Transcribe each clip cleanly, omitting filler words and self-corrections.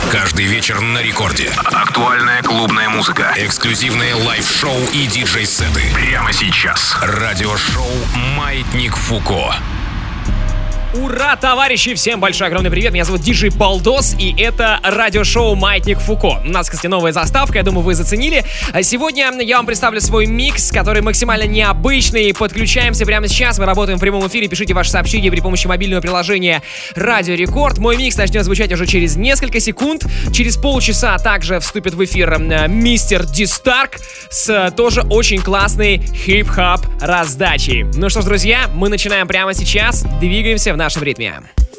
Каждый вечер на рекорде. Актуальная клубная музыка. Эксклюзивные лайв-шоу и диджей-сеты. Прямо сейчас. Радиошоу «Маятник Фуко». Ура, товарищи! Всем большой огромный привет! Меня зовут Диджей Балдос, и это радиошоу «Маятник Фуко». У нас, кстати, новая заставка, я думаю, вы заценили. Сегодня я вам представлю свой микс, который максимально необычный. Подключаемся прямо сейчас, мы работаем в прямом эфире. Пишите ваши сообщения при помощи мобильного приложения «Радио Рекорд». Мой микс начнет звучать уже через несколько секунд. Через полчаса также вступит в эфир мистер Дистарк с тоже очень классной хип-хоп раздачей. Ну что ж, друзья, мы начинаем прямо сейчас. Двигаемся в нашем ритме.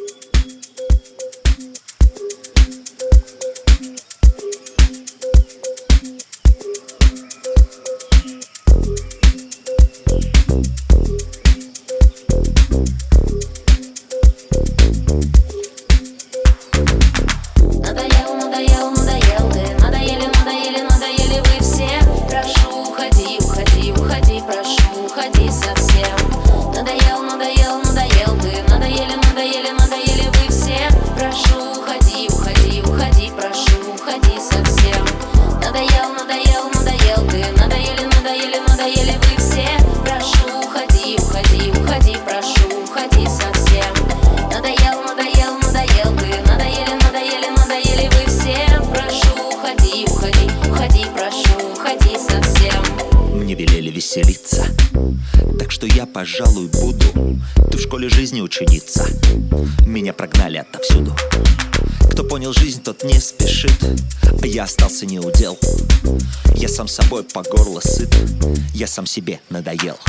Пожалуй, буду. Ты в школе жизни ученица. Меня прогнали отовсюду. Кто понял жизнь, тот не спешит. А я остался неудел. Я сам собой по горло сыт. Я сам себе надоел.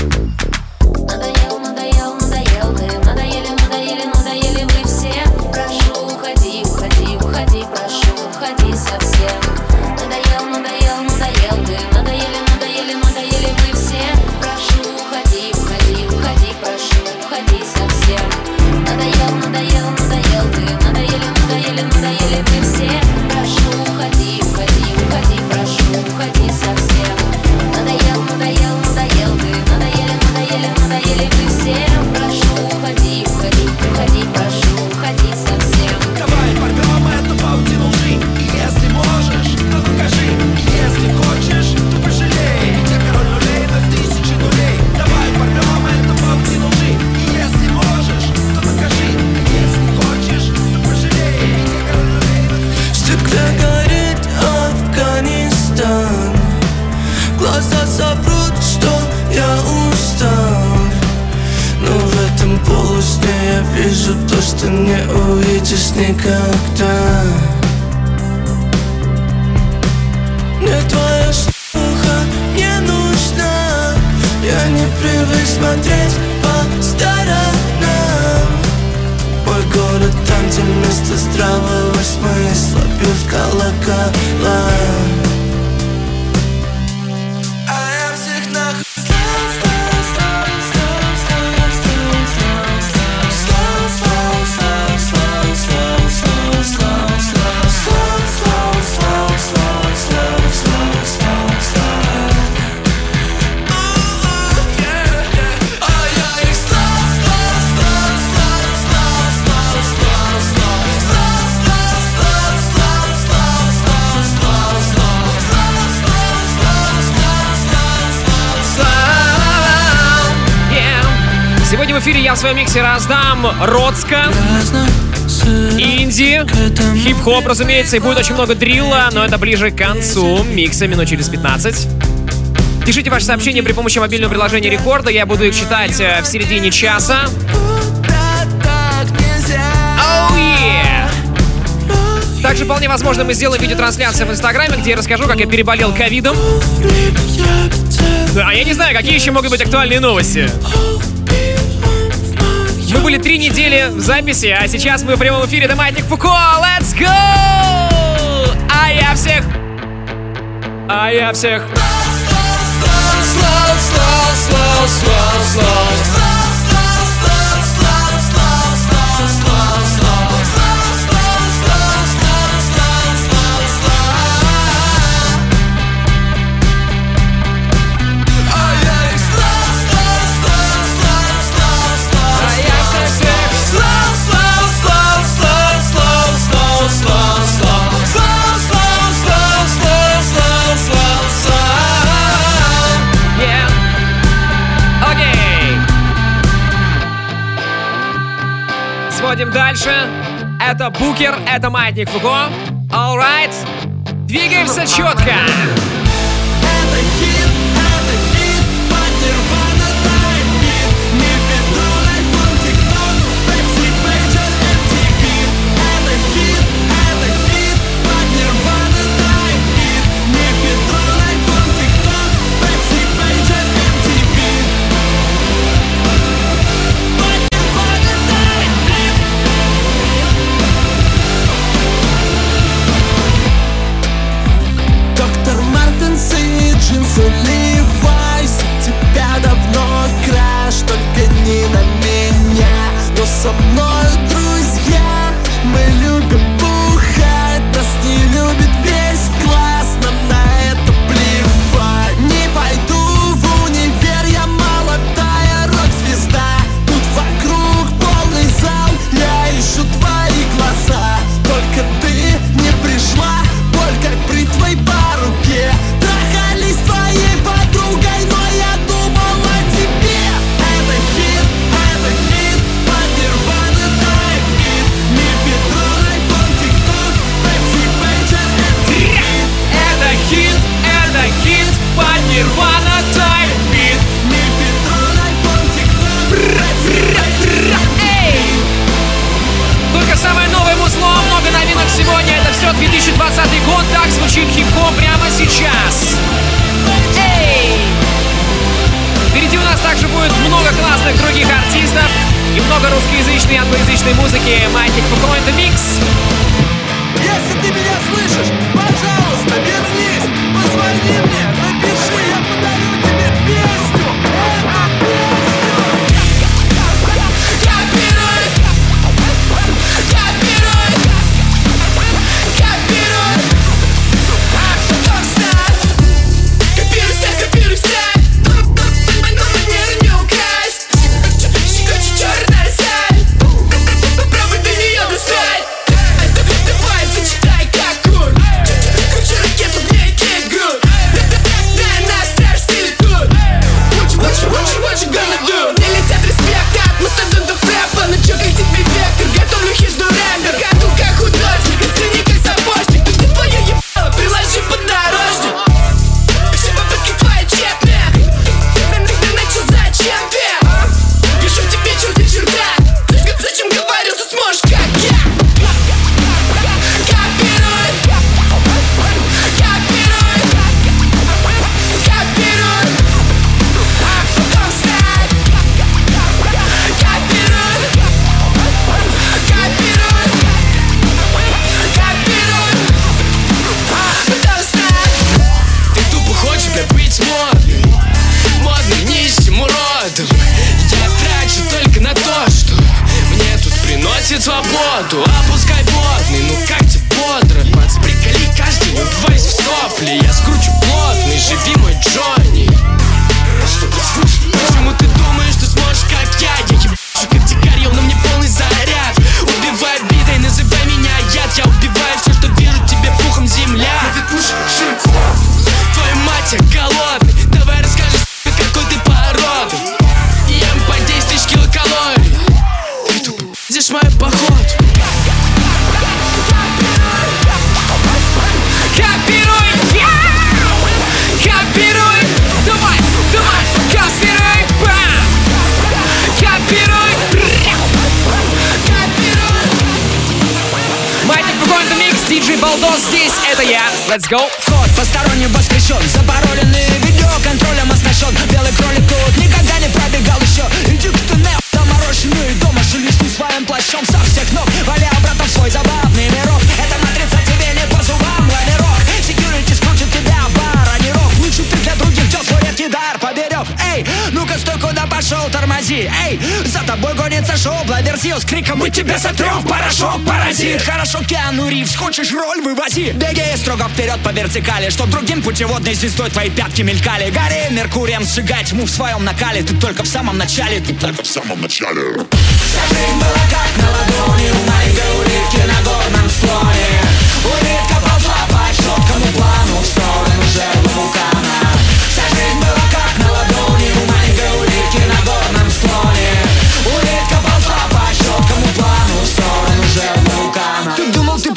Надоел, надоел, надоел. Ты надоели, надоели, надоели вы все. Прошу, уходи, уходи, уходи. Прошу, уходи совсем. Надоел, надоел, надоел. Ты надоели, надоели, надоели вы все. Прошу, уходи, уходи, уходи. Прошу, уходи совсем. Надоел, надоел, надоел. Ты надоели, надоели, надоели вы все. Прошу, уходи, уходи, уходи. Прошу, уходи совсем. Надоел, надоел, надоел. Ты надоели, надоели, надоели вы все. Прошу, уходи, уходи, уходи. Прошу, уходи совсем. Давай порвем эту паутину лжи. И если можешь, то покажи. И если хочешь, то пожалей. Ведь я король нулей на 1000 нулей. Давай порвем эту паутину лжи. И если можешь, то покажи. И если хочешь, то пожалей. Ведь я король нулей на 1000 нулей. В стекле горит Афганистан. Глаза соврут, что я устал. Но в этом полусне я вижу то, что не увидишь никогда. Мне твоя шлюха не нужна. Я не привык смотреть по сторонам. Мой город там, где вместо здравого смысла бьют колокола. Сегодня в эфире я в своем миксе раздам Родска, инди, хип-хоп, разумеется, и будет очень много дрилла, но это ближе к концу микса, минут через 15. Пишите ваши сообщения при помощи мобильного приложения Рекорда, я буду их читать в середине часа. Oh yeah! Также вполне возможно мы сделаем видеотрансляцию в Инстаграме, где я расскажу, как я переболел ковидом. А я не знаю, какие еще могут быть актуальные новости. Мы были 3 недели в записи, а сейчас мы в прямом эфире. Это «Маятник Фуко». Let's go! А я всех... едем дальше. Это Букер, это Маятник Фуко. Alright. Двигаемся четко. Это хит, под Nirvana Time Beat. Мефедрон, iPhone, TikTok, Pepsi, Pager, MTV. Это хит, под Nirvana Time Beat. Мефедрон, iPhone, TikTok, Pepsi, Pager, MTV. Под Nirvana Time Beat. Доктор Мартенс и джинсы Levi's. У тебя давно краш, только не на меня. Но со мной друзья, мы любим бухать. Нас не любит весь класс, нам на это плевать. Не пойду в универ, я молодая рок-звезда. Тут вокруг полный зал, я ищу твои глаза. Только ты не пришла, боль как бритвой по руке. Трахались с твоей подругой, но я думал о тебе. Это хит, под Nirvana Time Beat. Мефедрон, iPhone, TikTok, Pepsi, Pager, MTV. Это хит, под Nirvana Time Beat. Мефедрон, iPhone, TikTok, Pepsi, Pager, MTV. Только самое новое музло, много новинок сегодня. Это все 2020 год, так звучит хип-хоп прямо сейчас. Эй! Впереди у нас также будет много классных других артистов и много русскоязычной и англоязычной музыки. Маятник Фуко in the Mix. Если ты меня слышишь, пожалуйста, вернись. Позвони мне, напиши, я подарю тебе песню. Эту песню. Копируй стиль. Манеру не украсть. Черная сталь. Попробуй до нее достать. Давай зачитай как кур. Круче ракету, мне get good. Дай нас трэш, ты тут. What you gonna do? Мне летят респекты от мастодонтов рэпа. Ну чё, как тебе вектор? Готовлю хижду рендер. Готов как художник, оцени как сапожник. Тут ты твое ебало, приложи подорожник. Все попытки твои тщетные. Ты начал зачем ты? Пишу тебе черты черта. Зачем говорил, что сможешь как я? Копируй. Потом ставь. Копируй. Потом ставь. Ты тупо хочешь, бля, быть модным, нищим уродом. Я трачу только на то, что мне тут приносит свободу. Опускай водный, ну как тебе бодро? Пац, приколи каждый, не убивайся в сопли. Я скручу плотный, живи мой Джонни. Почему ты думаешь, что сможешь как я? Я ебашу как дикарь, на мне полный заряд. Убивай битой, называй меня яд. Я убиваю все, что вижу, тебе пухом земля. Твою мать, я голодный. Давай расскажи, какой ты породы. Ем по 10 тысяч килокалорий. Ты тупо пиздишь мою походу. Копируй! Копируй! Давай! Копируй! Бам! Копируй! Маятник Фуко in the Mix, диджей Балдос здесь, это я. Let's go! Вход посторонним воспрещен. Запароленный видео контролем оснащен. Белый кролик тут никогда не пробегал еще. Иди к туннелю доморощенную. Дома шелесту своим плащом со всех ног. Валя обратно в свой забавный мирок. Эта матрица тебе не по зубам, лавирок. Секьюрити скрутит тебя в бар, а не рок. Лучше ты для других дел свой редкий дар поберег. Эй, ну-ка стой, куда пошел, тормози. Эй, за тобой гонится шоу Блаверсио с криком: мы тебя сотрем в порошок, паразит. Хорошо, Киану Ривз, хочешь роль, вывози. Беги строго вперед по вертикали, чтоб другим путеводной звездой твои пятки мелькали. Гори Меркурием, сжигай тьму в своем накале. Ты только в самом начале, Вся жизнь была как на ладони у маленькой улитки на горном склоне. Улитка ползла по четкому плану в сторону жерлы вулкана. Вся жизнь была как на ладони у маленькой улитки на горном склоне. Улитка ползла по четкому плану в сторону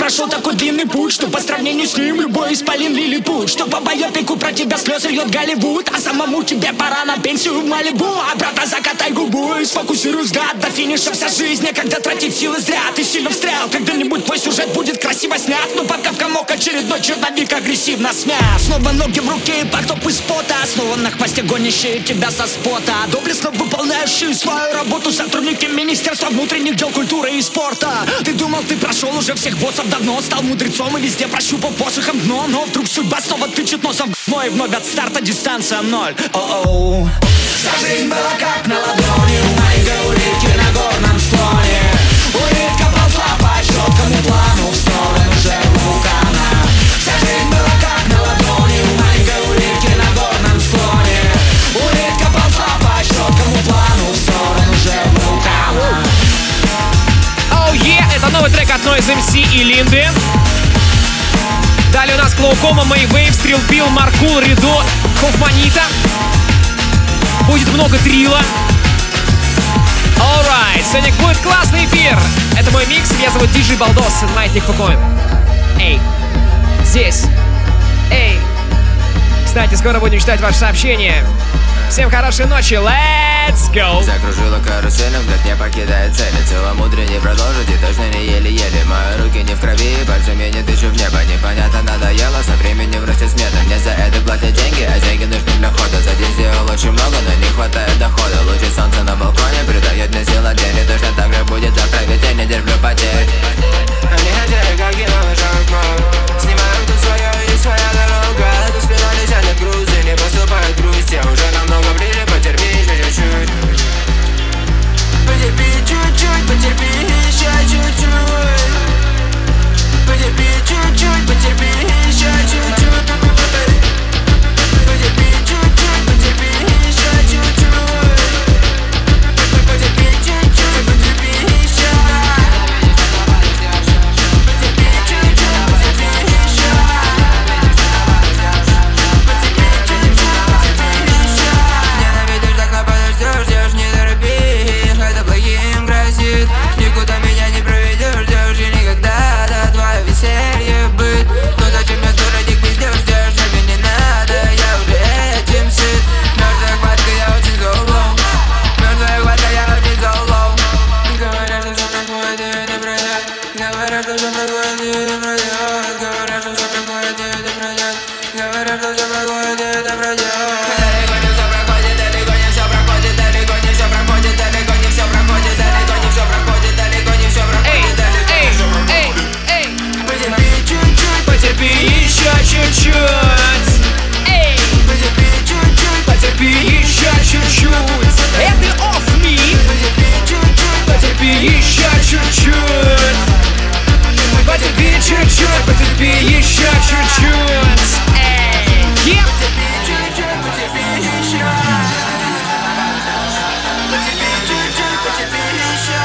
прошел такой длинный путь, что по сравнению с ним любой исполин лилипут. Что по байопику про тебя слезы льет Голливуд, а самому тебе пора на пенсию в Малибу. А брата закатай губу и сфокусируй взгляд. До финиша вся жизнь, некогда тратить силы зря. Ты сильно встрял, когда-нибудь твой сюжет будет красиво снят. Но пока в комок очередной черновик агрессивно смят. Снова ноги в руке и потоп из пота, снова на хвосте гонящие тебя со спота. Доблестно выполняющие свою работу сотрудники Министерства внутренних дел, культуры и спорта. Ты думал, ты прошел уже всех боссов давно, стал мудрецом и везде прощупал посохом дно. Но вдруг судьба снова тычет носом в дно, и вновь от старта дистанция ноль. О-оу. Вся жизнь была как на ладони у маленькой улитки на горном склоне. Улитка ползла по четкому плану в сторону жертвы вулкана. Вся жизнь была как на ладони у маленькой улитки на горном склоне. Улитка ползла по четкому плану в сторону жертвы вулкана. Oh yeah, это новый трек от Noise MC и Линды. Далее у нас Клоукома, Мэйвейв, Стрелбил, Маркул, Ридо, Хофманита. Будет много трила. Alright, сегодня будет классный эфир. Это мой микс, меня зовут DJ Балдос, Маятник Фуко. Эй, здесь. Эй. Кстати, скоро будем читать ваши сообщения. Всем хорошей ночи, let's go! Закружила карусель, взгляд не покидает цели. Целомудрие не продолжить и точно не еле-еле. Мои руки не в крови, пальцами не тычу в небо. Непонятно надоело, со временем растет смета. Мне за это платят деньги, а деньги нужны для хода. За день сделал очень много, но не хватает дохода. Лучи солнца на балконе придает мне сил от день. И точно так же будет завтра, ведь я не терплю потерь. Они хотели, как и новый шаг. Снимаем тут свое и своя дорога. За спиной тянет груз и не поступает грусть. Я уже намного ближе, потерпи еще чуть-чуть. Потерпи чуть-чуть, потерпи еще чуть-чуть. Потерпи чуть-чуть, потерпи еще чуть-чуть. Потерпи чуть-чуть, потерпи еще чуть-чуть. Потерпи чуть-чуть, потерпи еще. Потерпи чуть-чуть, потерпи еще. Потерпи чуть-чуть, потерпи еще. Ненавидишь, так нападешь, ждешь, не торопись. Это плохим грозит. Никуда меня не проведешь, ждешь и никогда. Да, твое веселье быть. Но зачем я стороник пиздешь, ждешь, а мне не надо. Я уже этим сыт. Мертвая хватка, я очень золом. Мертвая хватка, я очень золом. Говорят, что все проходит, и это пройдет. Говорят, что все проходит, и это пройдет. Говорят, что все проходит, и это пройдет. Говорят, что все проходит, и это пройдет. Далеко не все проходит, далеко не все проходит, далеко не все проходит, далеко не все проходит, далеко не все проходит, далеко не все проходит, далеко не все проходит. Потерпи чуть-чуть, Потерпи еще чуть-чуть. Эй, потерпи чуть-чуть, потерпи еще чуть-чуть. Это Off Me. потерпи чуть-чуть, Потерпи еще чуть-чуть. Потерпи чуть-чуть, потерпи еще чуть-чуть. Эй, yeah. чуть-чуть, потерпи еще. Потерпи чуть-чуть, потерпи еще.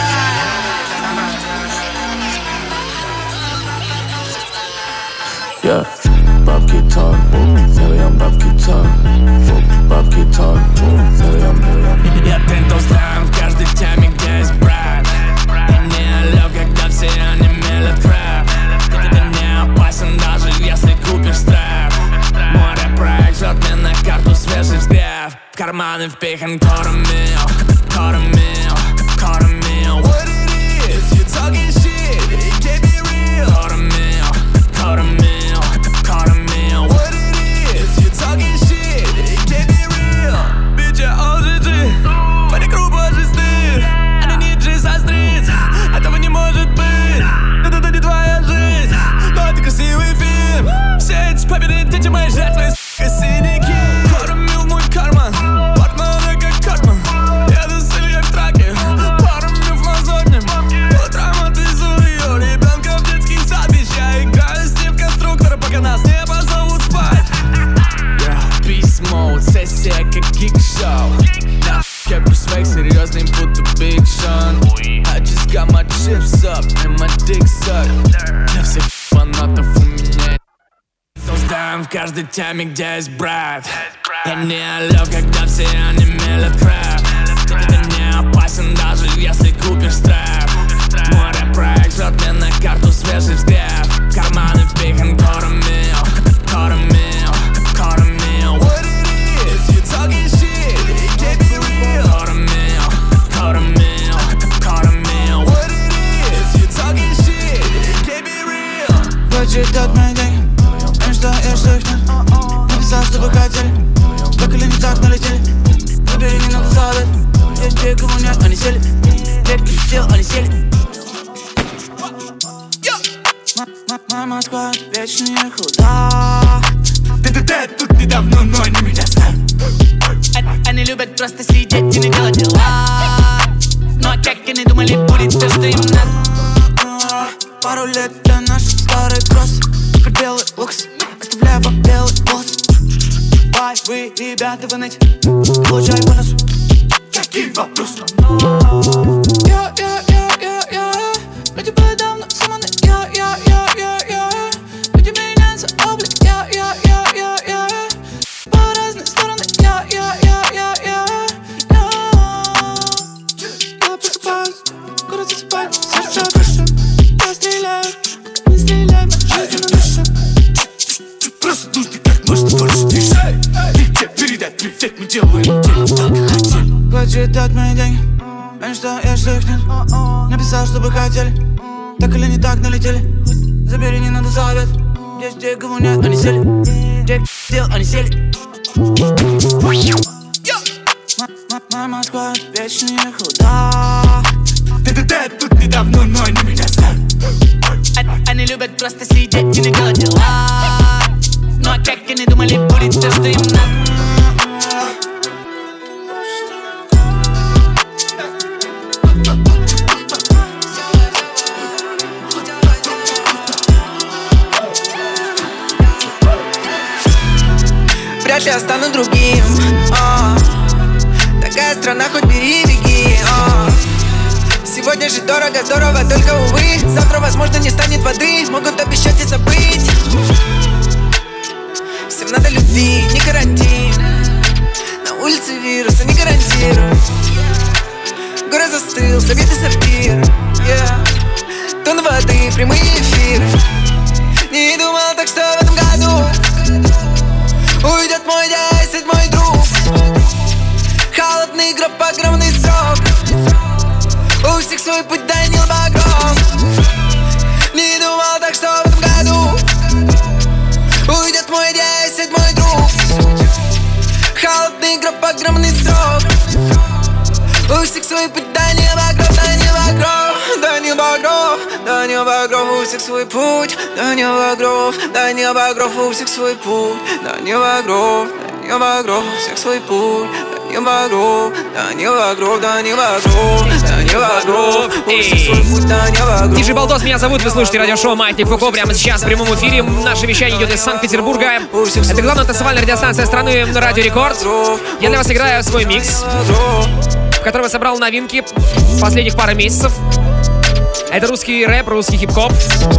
Yeah, бабки talk, миллион бабки talk, бабки talk, миллион. Я тентал стран в каждой теме, где есть брат. Я не лёг, когда все онемели прав. Ты не опасен, даже если купишь штраф. Море проект жжёт мне на карту свежий взгляд. В карманы впихан коромил, коромил, коромил. What it is, you talking shit, it can't be real. Коромил, коромил, коромил. What it is, you talking shit, it can't be real. Bitch, я OGG, по рекру божий стыд. Это не G со стрит, этого не может быть. Это не твоя жизнь, но это красивый фильм. Все эти победы, дети мои жертвы, сука, синяки. Коромил в мой карман, портмоне как Картман. Еду с Ильей в траке, пару мив на сотням. Утром отвезу ее ребенка в детский сад. Ведь я играю с ним в конструктора, пока нас не позовут спать. Beast mode, сессия как гик-шоу. Кепку свек серьезный, будто Big Sean. I just got my chips up and my dick suck. Для всех фанатов у меня создаем в каждой теме, где есть брат. Я не лёг, когда все онемели прав. Ты не опасен, даже если купишь штраф. море проект ждет мне на карту свежий взгляд. Карманы впихан коромил, коромил, коромил. What it is, you talking shit, it can't be real. Коромил, коромил, коромил. What it is, you talking shit, it can't be real. Почитать мои деньги, и что их нет. Написал, чтобы хотели, так или не так налетели. Забери, не надо задать. Есть те, кого нет, они сели. Детки сел, они сели. Моя Москва вечно не худа. Ты тут недавно, но они меня знают. Они любят просто сидеть и не делать дела. Но как они думали, будет то, что им надо. Пару лет для наших старых кросс. Теперь белый лукс, оставляя вам белый волос. Бай, вы, ребята, вы ныть. Получай бонус. Какие вопросы? Я люди были давно саманы. Я люди меняются облик. Я по разные стороны. Я просыпаюсь, город засыпает, сердце дышит. Я стреляю, не стреляй, моя жизнь дышит. Просто нужно как можно больше дышать. Тебе передать привет, мы делаем день, только хотели. Почитать мои деньги, и что их нет. Написал, чтобы хотели, так или не так налетели. Забери, не надо совет. Есть те, кого нет, они сели. Те, дел, они сели. Моя Москва вечно не худа. Ты тут недавно, но они меня знают. Они любят просто сидеть и не делать дела. Но как они думали, будет то, что им надо. Вряд ли я стану другим. Такая страна, хоть бери и беги. Сегодня жить дорого, здорово, только увы. Завтра, возможно, не станет воды. Могут обещать и забыть. Всем надо любви, не карантин. На улице вируса не гарантирую. Город застыл, советы сортир. Тон воды, прямые эфиры. Не думал так, что в этом году уйдет мой десять, мой друг. Холодный гроб, огромный срок. У всех свой путь, Данил Багров. Не думал так, что в этом году уйдет мой десять, мой друг. Холодный гроб, огромный срок. У всех свой путь, Данил Багров, Данил Багров. Данил Багров, Данил Багров, у всех свой путь. Данил Багров, Данил Багров, у всех свой путь. Данил Багров, Данил Багров, у всех свой путь. Данил Багров, Данил Багров, Данил Багров, Данил Багров, у всех свой путь. Данил Багров. Диджей Балдос, меня зовут, вы слушаете радиошоу «Маятник Фуко». Прямо сейчас в прямом эфире. Наше вещание идет из Санкт-Петербурга. Это главная танцевальная радиостанция страны «Радио Рекорд». Я для вас играю свой микс, в котором я собрал новинки последних пары месяцев. Это русский рэп, русский хип-хоп.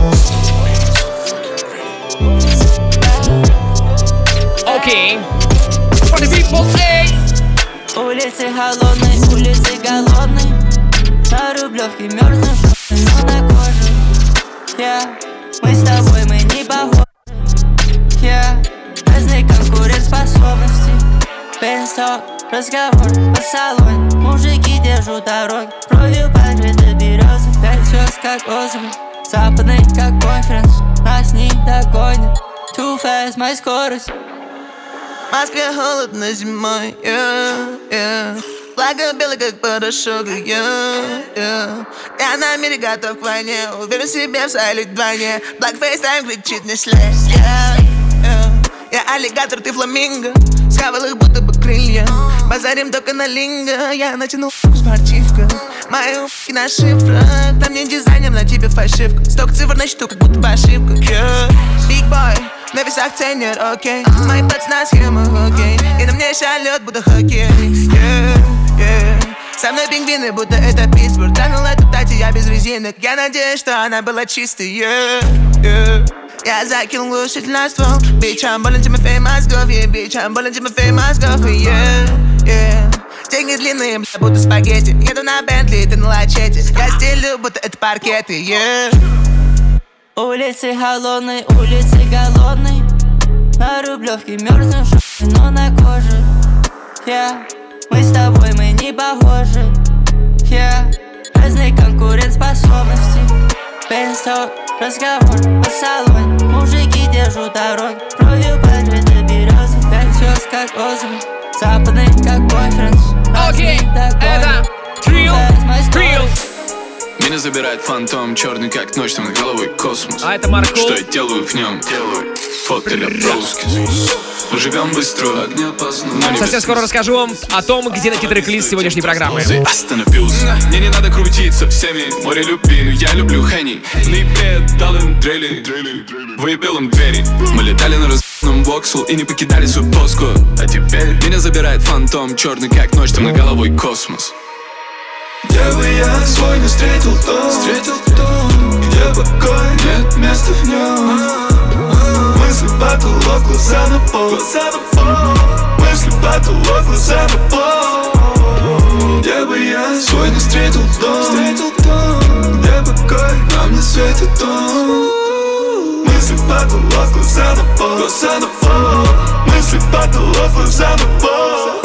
Окей. For the people, эй! Улицы холодные, улицы голодные. На Рублевке мерзнешь, но на коже. Мы с тобой, мы не похожи. Разные конкурентоспособности. Пенсток, разговор по салону. Мужики держат дороги, кровью покрыты березы. Пять как отзывы, западный как конференс. Нас не догонят, too fast, моя скорость. В Москве холодно зимой, Флага белый, как порошок, Я на мире готов к войне, уверен в себе в своей вдвойне. Black FaceTime кричит не слезь, Я аллигатор, ты фламинго. Схавал их будто бы крылья. Базарим только на линго. Я натянул спортивка. Мои у**ки на шифрах. Там не дизайнер, на тебе фальшивка. Сток цифр на счету, как будто бы ошибка. Big boy, на весах ценят, окей. Мои пацаны схемы, окей. И на мне шалет, будто хоккей. Со мной пингвины, будто это Питтсбург. Тронул эту тати, я без резинок. Я надеюсь, что она была чистой, Я закинул глушитель на ствол. Bitch, I'm ballin' to my fame мозгов, bitch, I'm ballin' to my fame мозгов, Деньги длинные, бля, будто спагетти. Еду на Бентли, ты на лачете. Я стелю, будто это паркеты, yeah. Улицы холодные, улицы голодные. На Рублевке мерзнем но на коже. Yeah. Мы с тобой, мы не похожи. Yeah. Разные конкурентоспособности. Пейнсток, разговор по салоне. Мужики держат дороги. Кровью покрыты березы. Пять звезд как отзывы. Западный как бойфренд. Окей, это Trill. Меня забирает фантом, черный как ночь, там над головой космос. А это Марко. Что я делаю в нем? Фото для броски. Мы живем быстро, огня познания. Совсем скоро расскажу вам о том, где найти трек-лист сегодняшней программы. Остановился. Мне не надо крутиться всеми. Море любви, но я люблю Хенни. В ноябре дал им дрели. Выебил им двери. Мы летали на разбитном Воксел и не покидали свою поску. А теперь меня забирает фантом, черный как ночь, там над головой космос. Где бы я свой не встретил дом, где покой, нет места в нем. Мысли потолок, глаза на пол. Мысли потолок, глаза на пол. Где бы я свой не встретил дом, где покой, нам не светит он. Мысли потолок, глаза на пол. Мысли потолок, глаза на пол.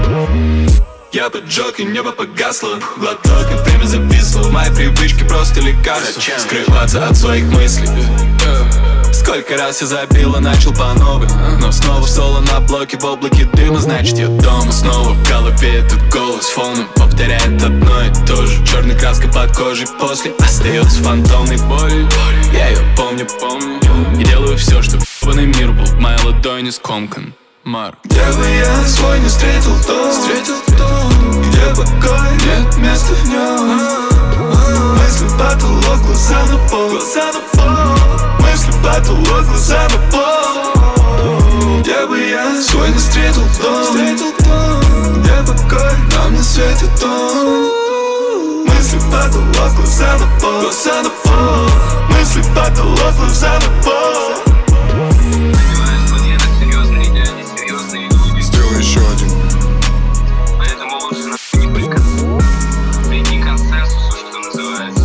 Я поджег и небо погасло. Глоток и время зависло. Мои привычки просто лекарства. Скрываться от своих мыслей. Сколько раз я забил и начал по новой. Но снова соло на блоке в облаке дыма. Значит я дома. Снова в голове этот голос фоном повторяет одно и то же. Черной краской под кожей после остается фантомной болью. Я ее помню. И делаю все, чтобы ебаный мир был в моей ладони скомкан. Марк. Где бы я свой не встретил дом, где покой, нет места в нем. Мысли потолок, глаза на пол. Мысли потолок, глаза на пол. Где бы я свой не встретил дом, где покой, нам не светит он. Мысли потолок, глаза на пол. Мысли потолок, глаза на пол. Еще один. Поэтому лучше нахуй не прикасаться. Приди к консенсусу, что называется.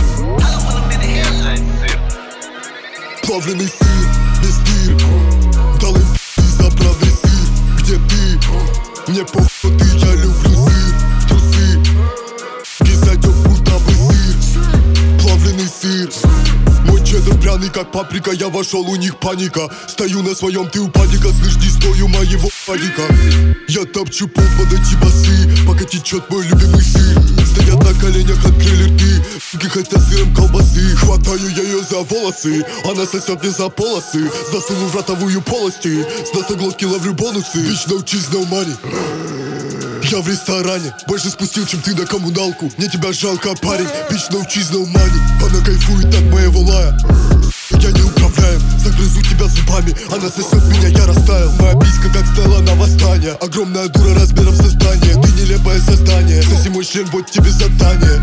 Плавленый сыр, без дыр. Дал им заправный сыр. Где ты? Мне похуй, ты, я люблю сыр. В трусы кисадёк, будто бы сыр. Плавленый сыр. Мой чеддер пряный, как паприка. Я вошел, у них паника. Стою на своем, ты упадика. Слышь, не стою моего падика. Я топчу пол, подойти басы. Пока течет мой любимый сыр. Стоят на коленях, открыли рты. Суки хотят сыром колбасы. Хватаю я ее за волосы. Она сосет мне за полосы. Засуну в ротовую полости. С носоглотки ловлю бонусы. Bitch, no cheese, no money. Я в ресторане, больше спустил, чем ты на коммуналку. Мне тебя жалко, парень, bitch, no cheese, no money. Она кайфует от моего лая. Я не управляем, загрызу тебя зубами. Она сосет меня, я растаял. Моя писька как стала на восстание. Огромная дура размером со здание. Ты нелепое создание. Соси мой член, вот тебе задание.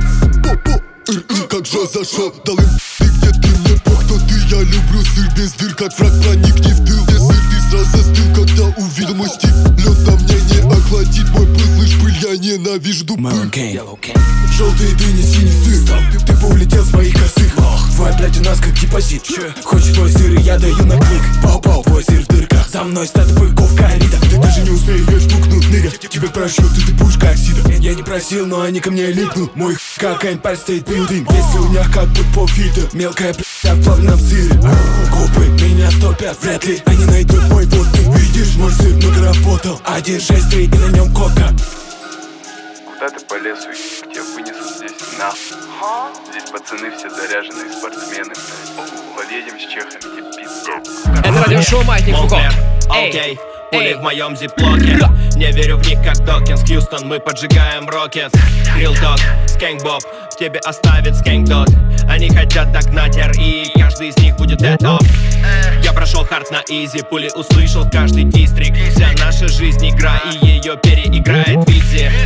Как же зашел, дал им ты, где ты, мне пох, кто ты. Я люблю сыр без дыр, как враг, проникни в тыл. Где сыр, ты сразу застыл, когда увидел мой стик. Лед на мне не охладит мой пыл, слышь, пыль, я ненавижу пыль. Желтый ты не синий сыр. Ты улетел с моих косых. Твоя блядь у нас как депозит. Хочешь твой сыр, и я даю на клик. Пау-пау, твой сыр в дырках. За мной стат быков коррида. Ты даже не успеешь пукнуть, ныря. Тебе прошьют, ты будешь как сида. Я не просил, но они ко мне липнут. Мой как Empire State Building. Если у них как будто фильтр. Мелкая блядь в плавном сыре. Губы меня стопят, вряд ли они найдут мой вот. Ты видишь, мой сыр много работал. 1.6.3 и на нем кока. Куда ты по лесу, тебя вынесут здесь нахуй. Здесь пацаны все заряженные спортсмены. Поедем с чехами, не пиздец. Это радиошоу «Маятник Фуко». Окей, пули в моем зиплоке. Не верю в них как Докинс, Хьюстон, мы поджигаем рокет. Real Talk, Скэнк Боб, в тебе оставит Скэнк Дот. Они хотят догнать РИ, каждый из них будет это. Я прошел хард на изи, пули услышал каждый дистрикт. Вся наша жизнь игра, и ее переиграет Визи. Твоя сука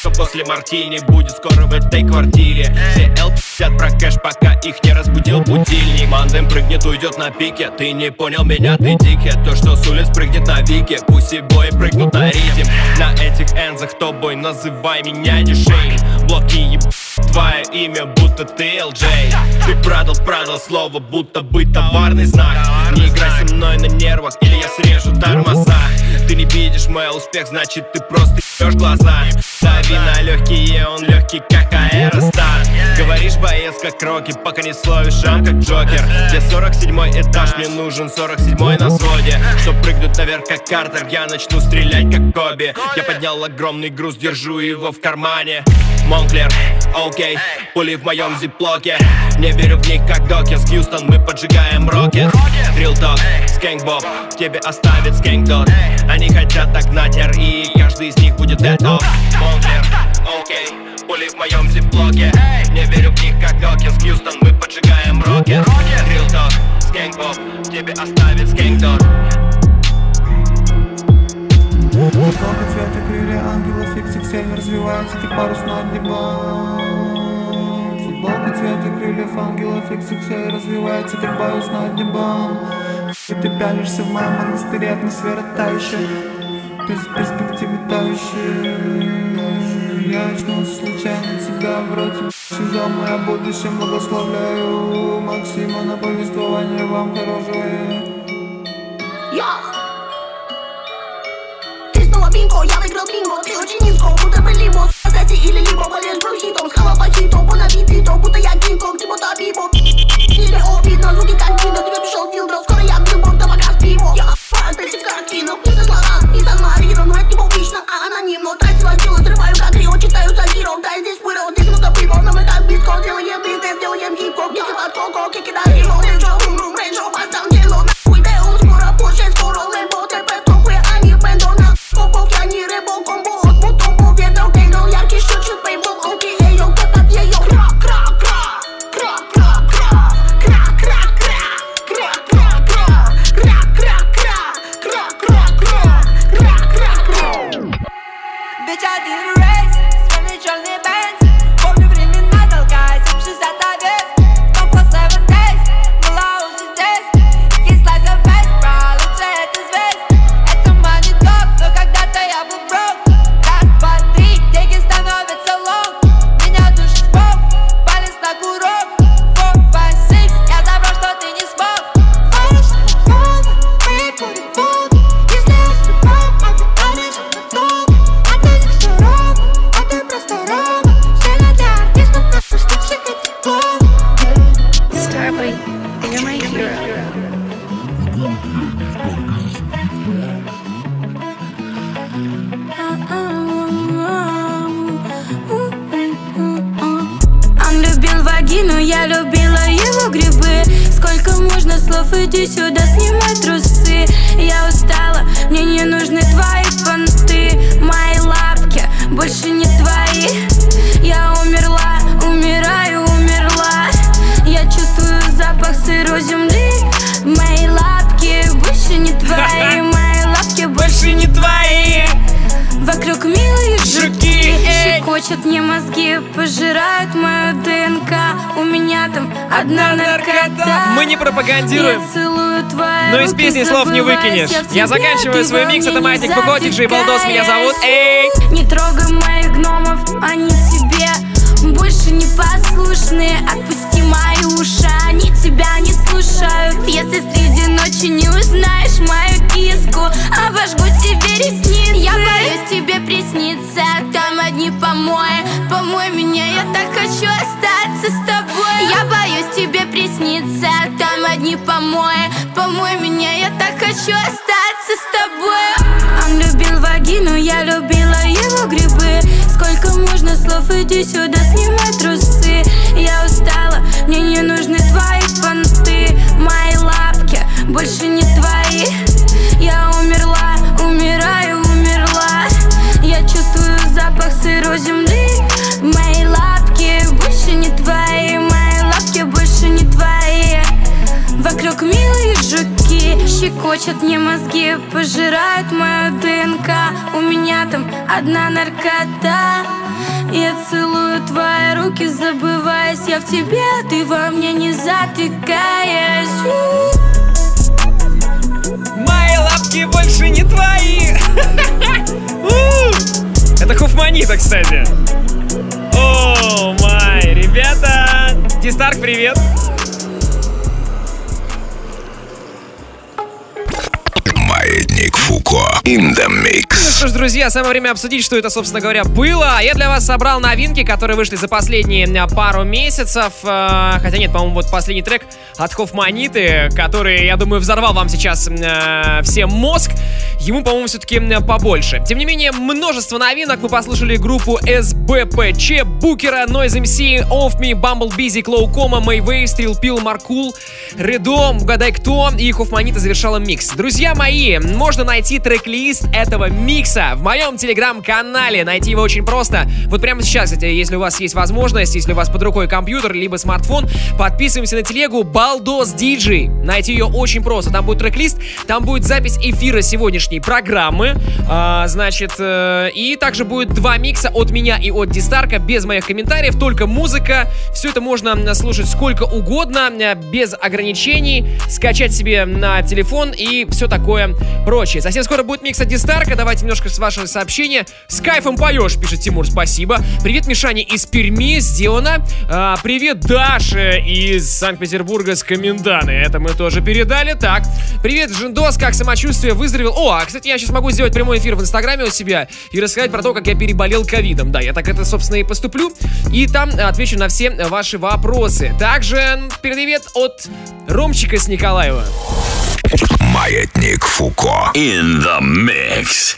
что после мартини будет скоро в этой квартире. Все L50 про кэш, пока их не разбудил будильник. Мандем прыгнет, уйдет на пике. Ты не понял меня, ты дикий. То, что с улиц прыгнет на Вике. Пусть и бои прыгнут на ритм. На этих энзах тобой называй меня не Шейн. Блоки еб... твое имя, будто ты LJ. Ты продал слово, будто бы товарный знак. Не играй со мной на нервах, или я срежу тормоза. Ты не видишь мой успех, значит ты просто ебешь глаза. Дави на легкие, он легкий, как аэростат. Говоришь, боец, как Рокки, пока не словишь шам, как Джокер. Где 47-й этаж, мне нужен 47-й на своде. Чтоб прыгнуть наверх, как Картер, я начну стрелять, как Коби. Я поднял огромный груз, держу его в кармане. Монклер, окей, пули в моем зиплоке. Не верю в них, как Докинс, Хьюстон, мы поджигаем рокет. Real Talk, Скэнк Боб, тебе оставит Скэнк Дот. Они хотят догнать РИ, каждый из них будет dead off. Монклер, окей, пули в моем зиплоке. Не верю в них, как Докинс, Хьюстон, мы поджигаем рокет. Real Talk, Скэнк Боб, тебе оставит Скэнк Дот. Футболка цвета крылья ангелов, XXL развивается, как парус над небом. Футболка цвета крыльев ангелов, XXL развивается, как парус над небом. И ты пялишься в моем монастыре, атмосфера тающая, без перспективы тающая. Я очнулся случайно, тебя в роте сезон, я в будущем благословляю Максима на повествование вам хорошее. Бинго, я выиграл бинго, ты очень низко, будто бы либо Сосети или либо болеешь бронхитом, сказал фахитом, по набитый то, будто я кинг-конг, типа табибо. Тебе обидно, звуки как кино, тебе пришел дилдро, скоро я билборд, да пока спиво. Я фантазик картину, не со слова, не со Марино, но это не публично, а анонимно. Трать свое тело, срываю как Рио, читаю сатиров, да здесь пырал, здесь много пивов, но мы как биско, делаем бизнес, делаем хип-хоп, кики под коко, кики на хиро, рейнджо, рум-рум, рейнджо, поставь дело, нахуй Део, скоро Порше, скоро Лэмбо, ТП, топы, они бэндо, на я не рэбо, комбо, от мотом поведал Кейгл, яркий шучит, пейбл, окей, эйо, кэпап, её, кра-кра-кра, кра-кра-кра, кра-кра-кра, кра-кра-кра, кра-кра-кра, кра-кра-кра, кра-кра-кра. Bitch, I did a race, светлый черный бенз. Помню времена, толкаясь, 60 овец. Только 7 days, была уже здесь. Kiss like a face, bro, лучше это звезд. Это money talk, но когда-то я был broke. Раз, два, три, деньги становятся long. Меня душит спок, палец на курок. 4, 5, 6, я забрал, что ты не смог. Варишь на воду, мы будем воду. Если я ошибаюсь, а ты танешь, это долго. А ты не все ровно, а ты просто ровно. Сильно для артистов, просто что все хотят клоун. Starboy, you're my hero. Он любил вагину, я любила его грибы. Сколько можно слов, иди сюда, снимай трусы. Я устала, мне не нужны твои понты. Мои лапки больше не твои. Я умерла, умираю, умерла. Я чувствую запах сырой земли. Мои лапки больше не твои. Мои лапки больше не твои. Вокруг милые жуки, щекочут мне мозги, пожирают мою ДНК. У меня там одна наркота. Мы не пропагандируем, но из песни слов не выкинешь. Я заканчиваю свой микс, это Маятник Фуко, диджей Балдос, меня зовут. Эй! Не трогай моих гномов, они тебе больше не послушные. Отпусти мои уши, они тебя не слушают. Если среди ночи не узнаешь мою киску, обожгу тебе ресницы. Я боюсь тебе присниться, там одни помои. Помой меня, я так хочу остаться с тобой. Я боюсь тебе присниться, там одни помои. Помой меня, я так хочу остаться с тобой. Он любил вагину, я любила его грибы. Сколько можно слов, иди сюда, снимай трусы. Я устала, мне не нужны твои понты. Мои лапки больше не твои. Я умерла, умираю, умерла. Я чувствую запах сырой земли. Мои лапки больше не твои. Мои лапки больше не твои. Вокруг милые жуки, щекочут мне мозги, пожирают мою ДНК. У меня там одна наркота. Я целую твои руки, забываясь, я в тебе, ты во мне не затыкаясь. Мои лапки больше не твои. Это Хофманита, кстати. О, май, ребята. Дистарк, привет. Маятник Фуко in the mix. Ну что ж, друзья, самое время обсудить, что это, собственно говоря, было. Я для вас собрал новинки, которые вышли за последние пару месяцев. Хотя нет, по-моему, вот последний трек от Хофманиты, который, я думаю, взорвал вам сейчас всем мозг. Ему, по-моему, все-таки побольше. Тем не менее, множество новинок. Мы послушали группу СБПЧ, Букера, Noise MC, Off Me, Bumble Busy, Клоукома, Мэйвей, Стрил Пил, Маркул, Редом, Угадай Кто и Хофманита завершала микс. Друзья мои, можно найти трек-лист этого микса в моем телеграм-канале. Найти его очень просто. Вот прямо сейчас, кстати, если у вас есть возможность, если у вас под рукой компьютер, либо смартфон, подписываемся на телегу Балдос Диджей. Найти ее очень просто. Там будет трек-лист, там будет запись эфира сегодняшней программы. И также будет 2 микса от меня и от Дистарка, без моих комментариев, только музыка. Все это можно слушать сколько угодно, без ограничений, скачать себе на телефон и все такое прочее. Совсем скоро будет микс от Дистарка. Давайте немножко с вашего сообщения. С кайфом поешь, пишет Тимур, спасибо. Привет, Мишаня из Перми, сделано. Привет, Даша из Санкт-Петербурга с Коменданы. Это мы тоже передали. Так, привет, Жендос, как самочувствие, выздоровел? О, кстати, я сейчас могу сделать прямой эфир в Инстаграме у себя и рассказать про то, как я переболел ковидом. Да, я так это, собственно, и поступлю. И там отвечу на все ваши вопросы. Также привет от Ромчика с Николаева. Маятник Фуко in the mix.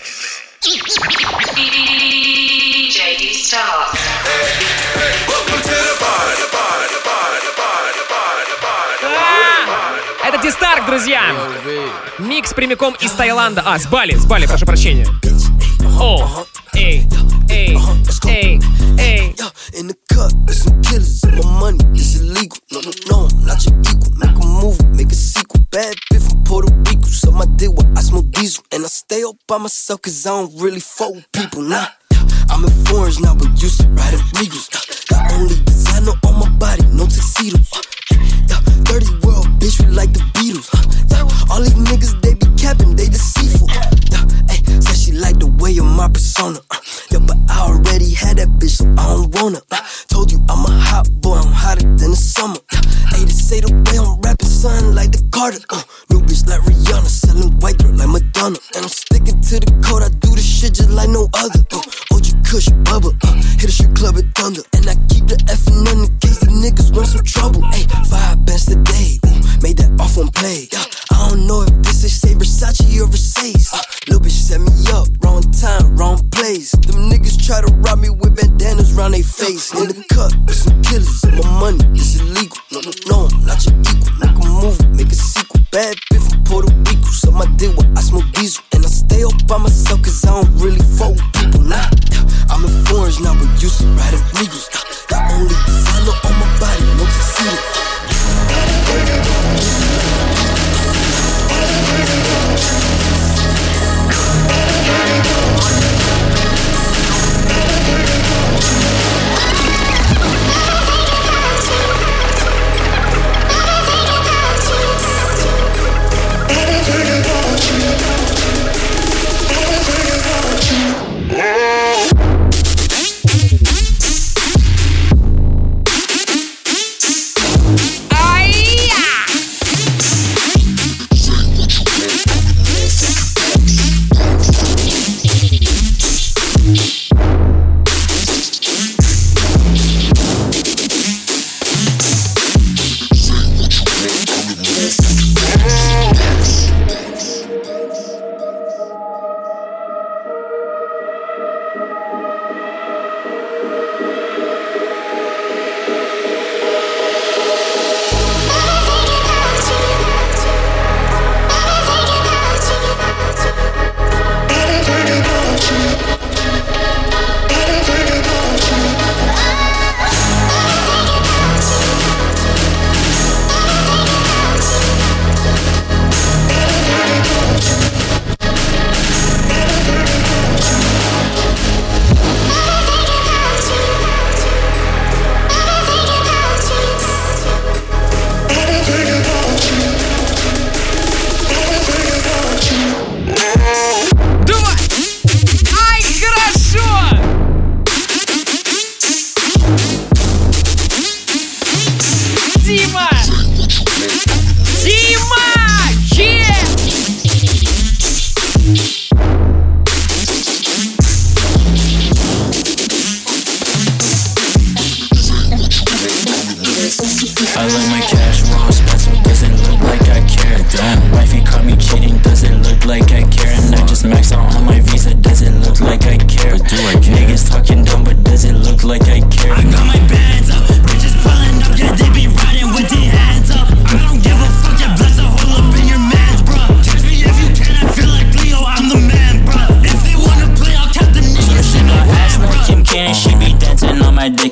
Это Дистарк, друзья. Микс прямиком из Таиланда. С Бали, прошу прощения. О, эй, эй, эй, эй. In the cup, there's some killers, and my money is illegal. No, I'm not your equal. Make a movie, make a sequel. Bad bitch from Puerto Rico, so my dick where I smoke diesel. And I stay up by myself, cause I don't really fuck with people, nah. I'm in foreigns now, but used to riding Regals. The only designer on my body, no tuxedo. 30-year-old bitch, we like the Beatles. All these niggas, they be capping, they deceitful. Said she like the way of my persona. But I already had that bitch, so I don't wanna. Told you I'm a hot boy, I'm hotter than the summer. They say the way I'm rapping, son, like the Carter. New bitch like Rihanna, selling white girl like Madonna. And I'm sticking to the code, I do this shit just like no other. OG Kush, Bubba, hit a strip club at Thunder. And I keep the F&N in case the niggas run some trouble. 5 bands today, made that off on play. I don't know if this is say Versace or Versace. Lil' bitch set me up, wrong time, wrong place. Them niggas try to rob me with bandanas round they face. In the cup, with some killers, and my money is illegal. No, I'm not your equal. Make a movie, make a sequel. Bad bitch from Puerto Rico, so my dick where I smoke diesel. And I stay up by myself, cause I don't really fuck with people, nah. I'm in foreigns now, but used to riding Regals. The only designer on my body, no tuxedo.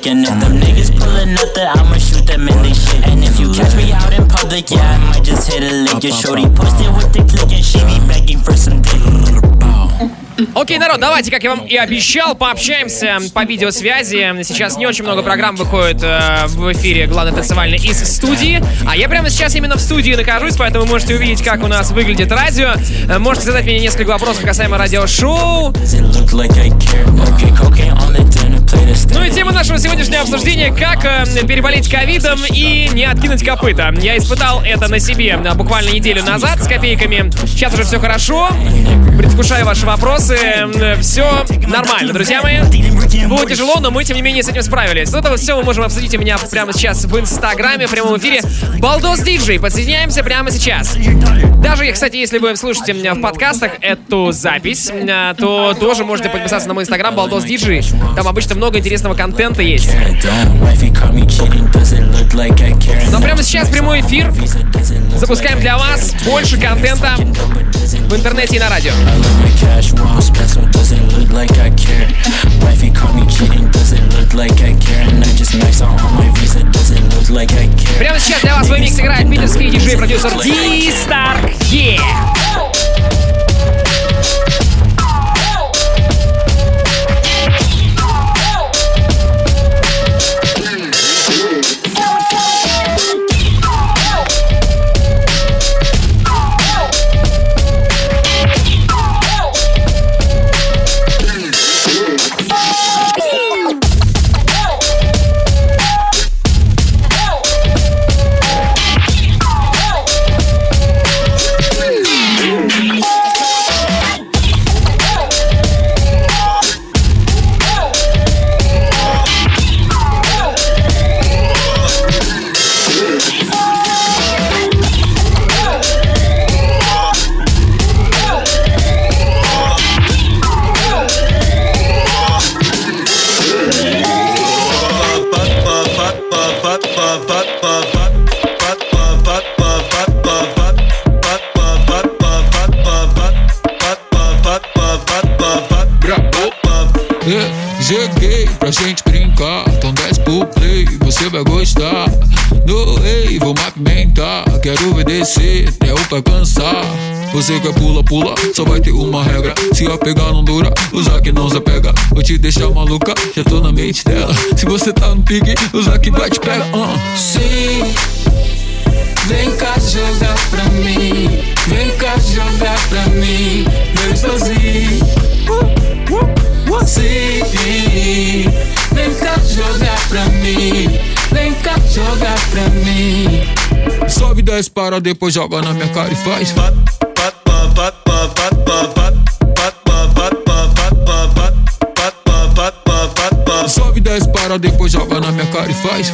public. And if them niggas pulling up, that I'ma shoot them in they shit. And if you catch me out in public, yeah, I might just hit a lick. Your shorty posted with the click and she be begging for some dick. Окей, народ, давайте, как я вам и обещал, пообщаемся по видеосвязи. Сейчас не очень много программ выходит в эфире главной танцевальной из студии. А я прямо сейчас именно в студии нахожусь, поэтому вы можете увидеть, как у нас выглядит радио. Можете задать мне несколько вопросов касаемо радиошоу. Ну и тема нашего сегодняшнего обсуждения: как переболеть ковидом и не откинуть копыта. Я испытал это на себе буквально неделю назад с копейками. Сейчас уже все хорошо. Предвкушаю ваши вопросы. Все нормально, друзья мои. Было тяжело, но мы, тем не менее, с этим справились. Вот это вот все мы можем обсудить у меня прямо сейчас в Инстаграме, в прямом эфире. Балдос Диджей. Подсоединяемся прямо сейчас. Даже, кстати, если вы слушаете меня в подкастах эту запись, то тоже можете подписаться на мой Инстаграм Балдос Диджей. Там обычно много интересного контента есть. Но прямо сейчас прямой эфир. Запускаем для вас больше контента в интернете и на радио. Прямо сейчас для вас свой микс играет питерский диджей-продюсер D-Stark. Cheguei pra gente brincar, então desce pro play, você vai gostar. No rei, vou apimentar, quero obedecer até o pai cansar. Você quer pula, pula, só vai ter uma regra. Se a pegar não dura, usar que não se pega. Vou te deixar maluca, já tô na mente dela. Se você tá no pique, usar que vai te pegar. Sim, vem cá jogar pra mim. Vem cá jogar pra mim. Eu sozinho. Sim, vem cá jogar pra mim. Vem cá jogar pra mim. Sobe 10 para, depois joga na minha cara e faz. Sobe 10 para, depois joga na minha cara e faz.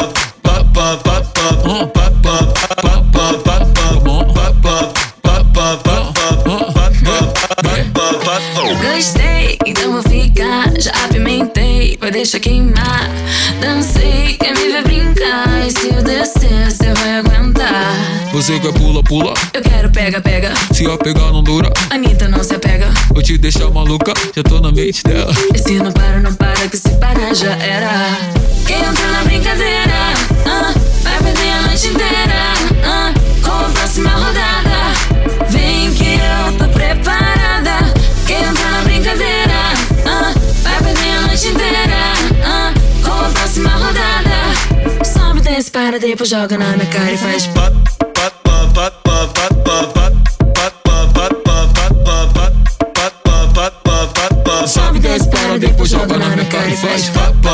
Gostei, então vou ficar. Já apimentei, vai deixar queimar. Dancei, quer me ver brincar. E se eu descer, cê vai aguentar. Você quer pula, pula. Eu quero pega, pega. Se a pegar não dura, Anitta não se apega. Vou te deixar maluca, já tô na mente dela. E se não para, não para, que se parar já era. Quem entrou na brincadeira, vai perder a noite inteira, com a próxima rodada. Vem que eu tô preparada. Quem entrou na brincadeira, vai perder a noite inteira, com a próxima rodada. Sobe, desce, para, depois joga na minha cara e faz pop. Sobe 10 para, depois joga na minha cara e faz.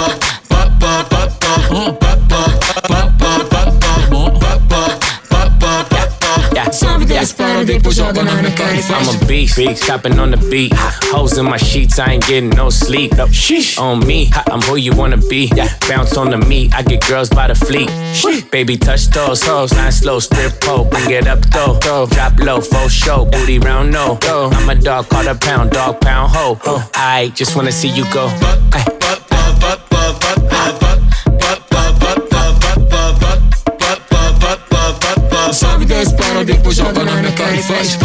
I'm a beast, chopping on the beat. Hoes in my sheets, I ain't getting no sleep. On me, I'm who you wanna be. Bounce on the meat, I get girls by the fleet. Baby, touch those hoes, line slow, strip pole, bring it up though. Drop low, full show, booty round no. I'm a dog, call a pound, dog pound ho. I just wanna see you go. Sobe 10 para, depois joga na minha cara e faz.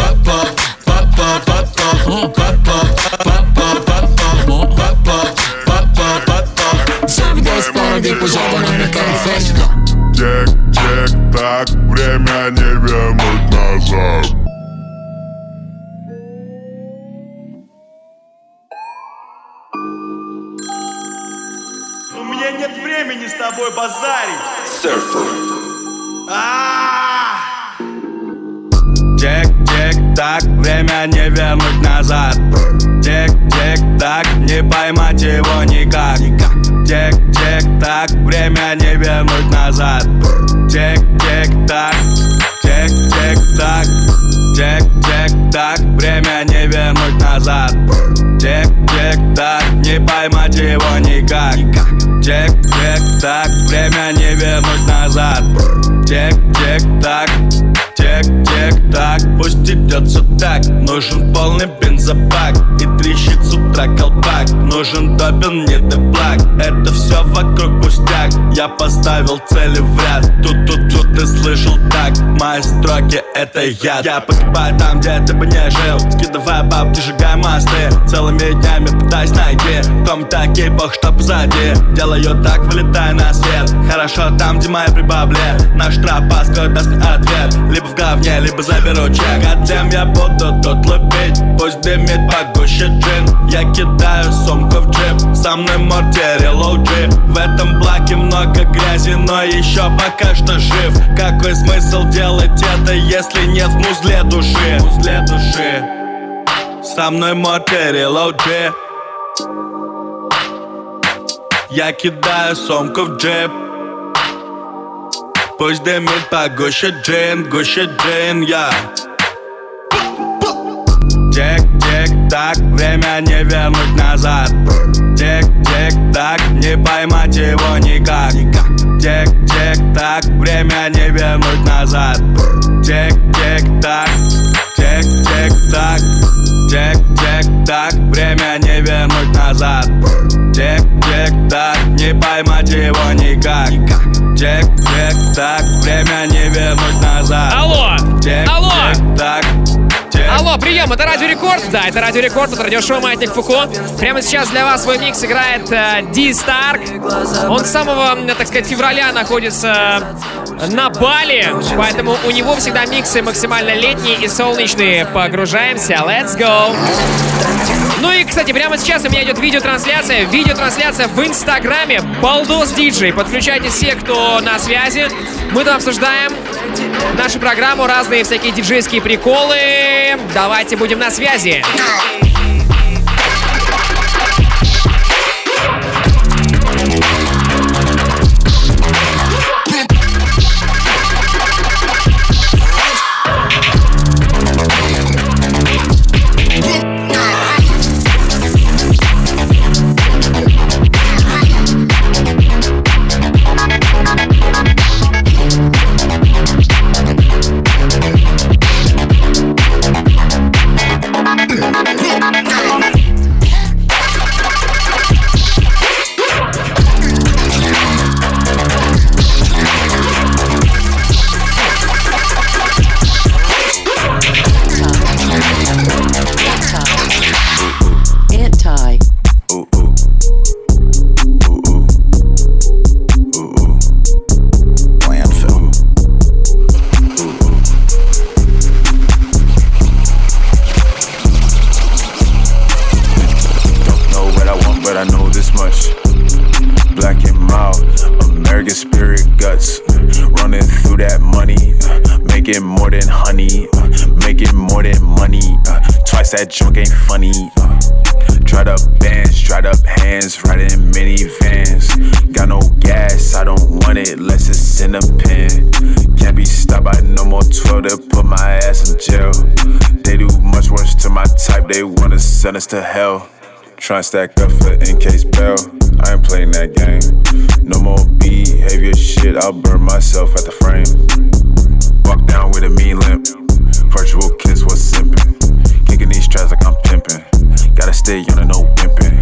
Sobe 10 para. дороги позабранными конфетти. Тик-тик, так, время не вернуть назад. У меня нет времени с тобой базарить. Тик-тик-так, время не вернуть назад. Тик-тик-так, не поймать его никак. Тик-тик-так, время не вернуть назад. Тик-тик-так, тик-тик-так, тик-тик-так, время не вернуть назад. Тик-тик-так, не поймать его никак. Тик-тик-так, время не вернуть назад. Тик-тик-так, тик-тик-так, пусть идется так. Нужен полный бензобак и трещит с утра колпак. Нужен допинг, не деплак, это все вокруг пустяк. Я поставил цели в ряд, тут ты слышал так. Мои строки это яд. Я погибаю там, где ты бы не жил. Кидывая бабки, сжигая мосты. Целыми днями пытаюсь найти в ком-то кейпах, что позади. Делаю так, вылетая на свет. Хорошо там, где мои прибавли. Наш тропа скоро даст мне ответ. Либо в говне, либо заберу чек. А тем я буду тут лупить. Пусть дымит погуще джин. Я кидаю сумку в джип. Со мной мортири, лоу-джи. В этом блоке много грязи, но еще пока что жив. Какой смысл делать это, если нет в музле души? Музле души. Со мной мортири, лоу-джи. Я кидаю сумку в джип. Пусть дымит погуще джин, гуще джин, я. Тик-тик-так, время не вернуть назад. Тик-тик-так, не поймать его никак. Тик-тик-так, время не вернуть назад. Тик-тик-так, тик-тик-так, тик-тик-так, время не вернуть назад. Тик-тик-так, не поймать его никак. Тик-тик-так, время не вернуть назад. Алло! Тик-тик-так. Алло, прием, это Радио Рекорд. Да, это Радио Рекорд, это радиошоу «Маятник Фуко». Прямо сейчас для вас свой микс играет Ди Старк. Он с самого, так сказать, февраля находится на Бали, поэтому у него всегда миксы максимально летние и солнечные. Погружаемся, let's go! Ну и, кстати, прямо сейчас у меня идет видеотрансляция в Инстаграме Балдос Диджей. Подключайтесь все, кто на связи. Мы там обсуждаем нашу программу, разные всякие диджейские приколы. Давайте будем на связи. That junk ain't funny. Dried up bands, dried up hands, riding minivans. Got no gas, I don't want it unless it's in a pen. Can't be stopped by no more 12, they'll put my ass in jail. They do much worse to my type, they wanna send us to hell. Tryna stack up for in case bail, I ain't playing that game. No more behavior shit, I'll burn myself at the frame. Walk down with a mean limp, virtual kiss was simping. Kicking these tracks like I'm pimping. Gotta stay on a no pimping.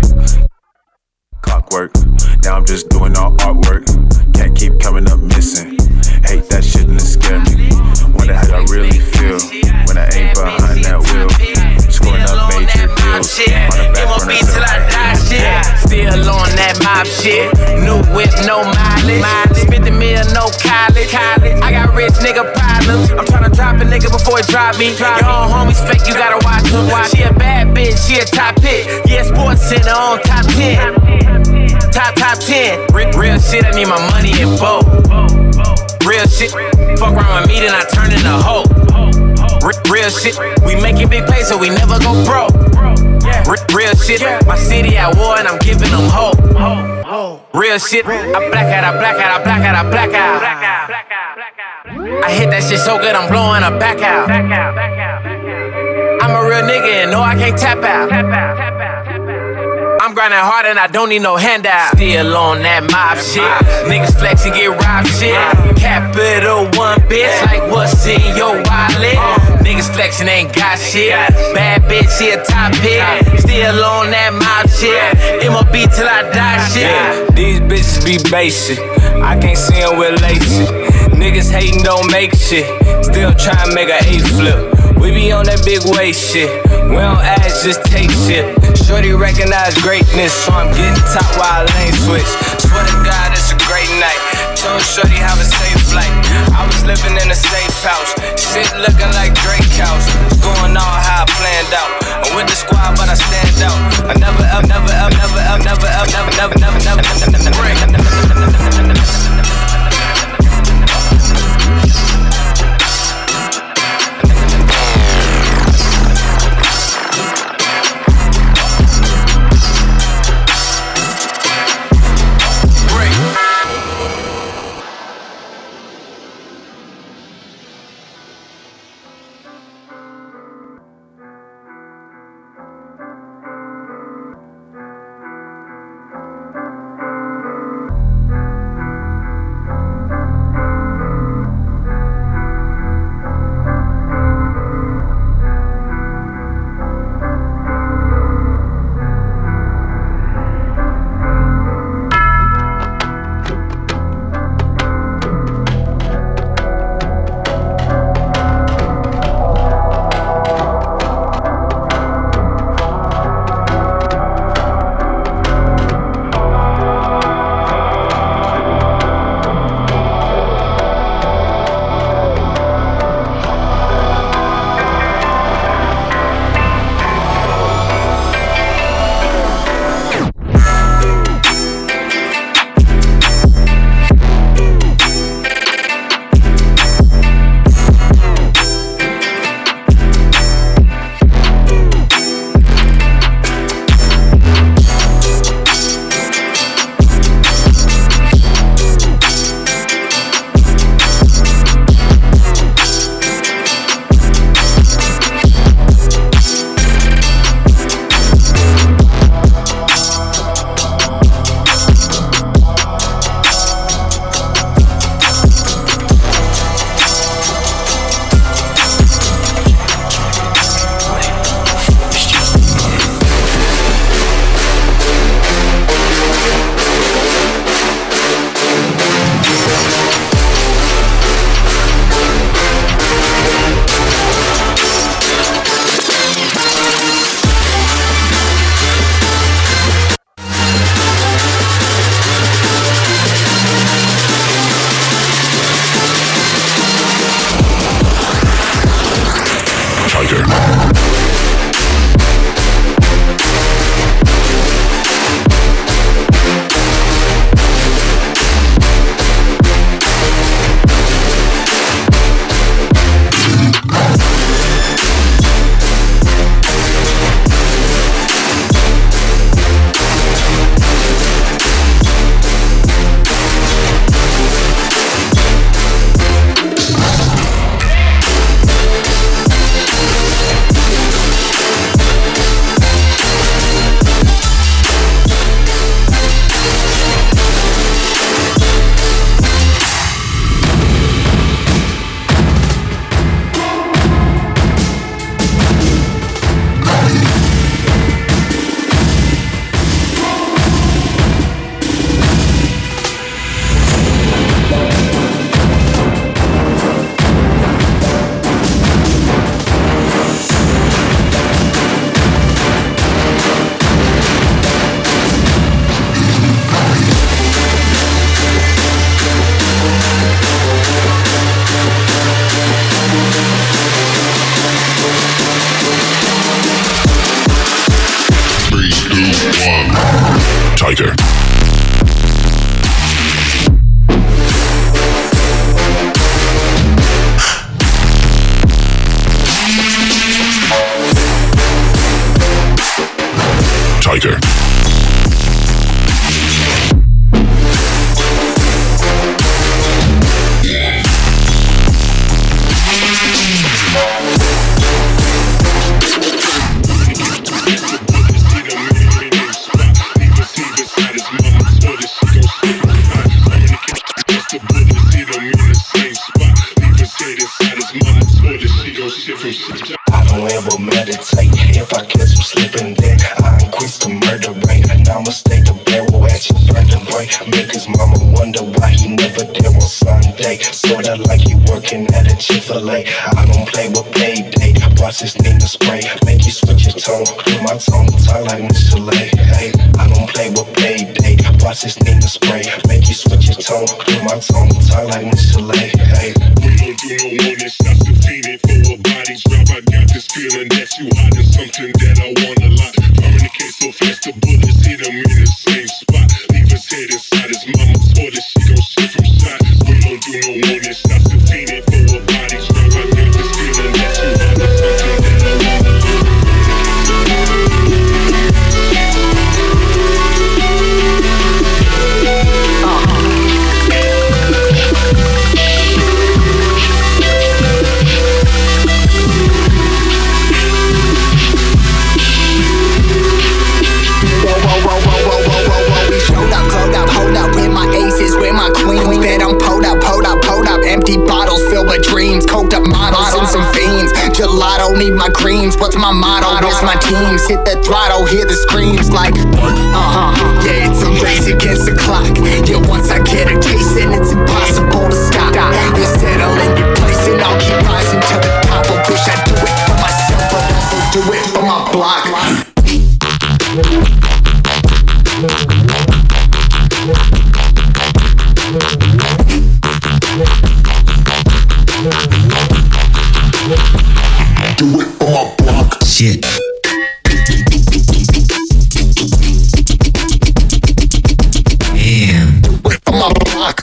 Clockwork, now I'm just doing all artwork. Can't keep coming up missing. Hate that shit and it scare me. Wonder how I really feel when I ain't behind that wheel. Scoring up major deals. On the back burner till I die shit. Still on that mob shit. New whip, no mileage. Spent the meal, no college. I got rich nigga problems. I'm tryna drop a nigga before it drop me. Your own homies fake, you gotta watch them. She a bad bitch, she a top hit. Yeah, Sports Center on top 10. Top 10. Real shit, I need my money in both. Real shit, fuck around with me, then I turn into a hoe. Real shit, we making big pay so we never go broke. Real shit, my city at war and I'm giving them hope. Real shit, I black out. I hit that shit so good I'm blowing her back out. I'm a real nigga and no I can't tap out. I'm grinding hard and I don't need no handout. Still on that mob shit. Niggas flex and get robbed shit. Capital One bitch, like what's in your wallet? Niggas flexing ain't got shit. Bad bitch, she a top hit. Still on that mob shit. MOB till I die shit. These bitches be basic. I can't see them with lacy. Niggas hating don't make shit. Still tryna make a A flip. We be on that big weight shit. We don't ask, just take shit. Shorty recognize greatness, so I'm getting top while I lane switch. Swear to God, it's a great night. Told Shorty have a safe flight. I was living in a safe house. Shit looking like Drake house. Going all how I planned out. I'm with the squad, but I stand out. I never Tiger. Tiger. I don't ever meditate. If I catch him slipping, then I increase the murder rate. And I'ma stay the barrel at your burden rate. Make his mama wonder why he never there on Sunday. Sorta like he working at a Chick-fil-A. I don't play with payday. Watch this nigga spray. Make you switch your tone. Clear my tone. Talk like Miss Chalet. Hey, I don't play with payday. Watch this nigga spray. Make you switch your tone. Clear my tone. Talk like Miss Chalet. Hey, we don't do no warning. Stop defeated for a body drop. I got this feeling that you hiding something that I want a lot. Communicate so fast the bullets hit him in the same spot. Leave his head inside his mama's toilet. She gon' shit from shot. We don't do no warning. Stop defeated for a body drop. I got this feeling that you hiding something that I want a lot. Empty bottles filled with dreams, coked up models and some fiends. Gelato, need my creams. What's my motto? Where's my teams? Hit the throttle, hear the screams like yeah, it's a race against the clock. Yeah, once I get a taste, and it's impossible to stop. You settle in your place, and I'll keep rising to the top. I wish I'd do it for myself, but also do it for my block. Do it for my block. Shit. Damn. Do it for my block.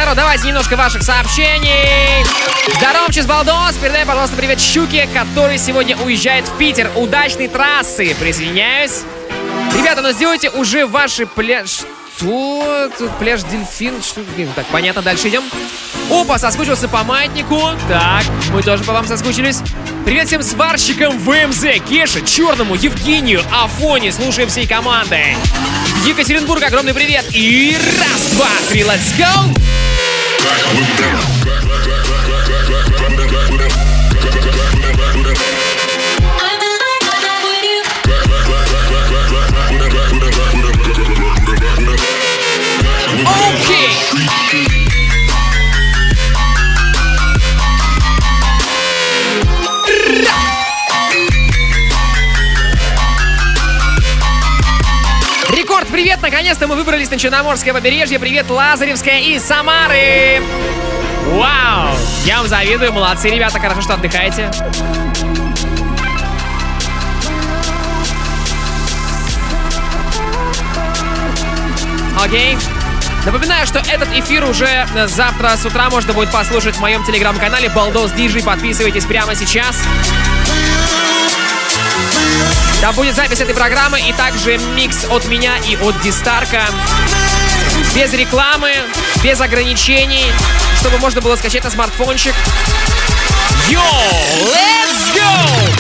народ, давайте немножко ваших сообщений. Здоровчик, Балдос, передай, пожалуйста, привет Щуке, который сегодня уезжает в Питер. Удачной трассы, присоединяюсь. Ребята, ну сделайте уже ваши пляж... Что? Тут пляж Дельфин? Что? Так, понятно, дальше идем. Опа, соскучился по маятнику. Так, мы тоже по вам соскучились. Привет всем сварщикам ВМЗ, Кеше, Черному, Евгению, Афоне. Слушаем всей командой. Екатеринбург, огромный привет. И раз, два, три, let's go! Окей! Рекорд, привет! Наконец-то мы выбрались на Черноморское побережье. Привет, Лазаревская и Самары! Вау! Я вам завидую, молодцы, ребята, хорошо, что отдыхаете. Окей. Напоминаю, что этот эфир уже завтра с утра можно будет послушать в моем телеграм-канале Baldos DJ. Подписывайтесь прямо сейчас. Там будет запись этой программы и также микс от меня и от Дистарка. Без рекламы, без ограничений, чтобы можно было скачать на смартфончик. Йоу, let's go!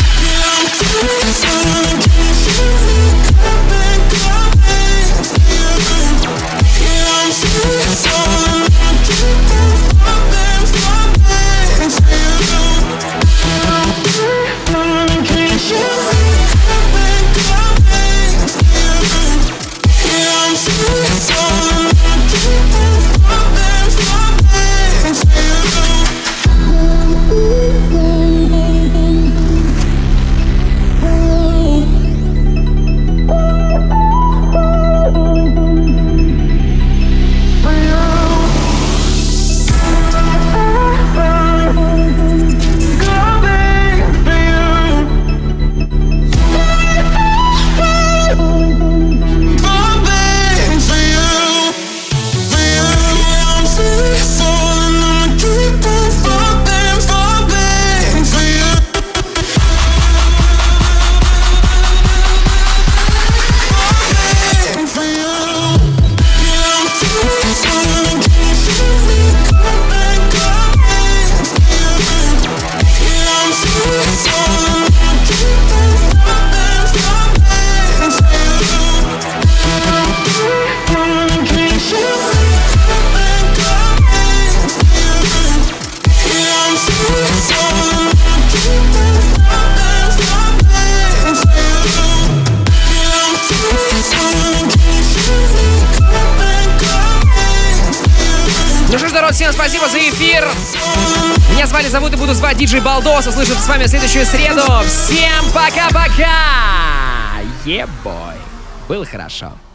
Всем спасибо за эфир. Меня зовут и буду звать диджей Балдос. Услышимся с вами в следующую среду. Всем пока-пока. Ебой. Было хорошо.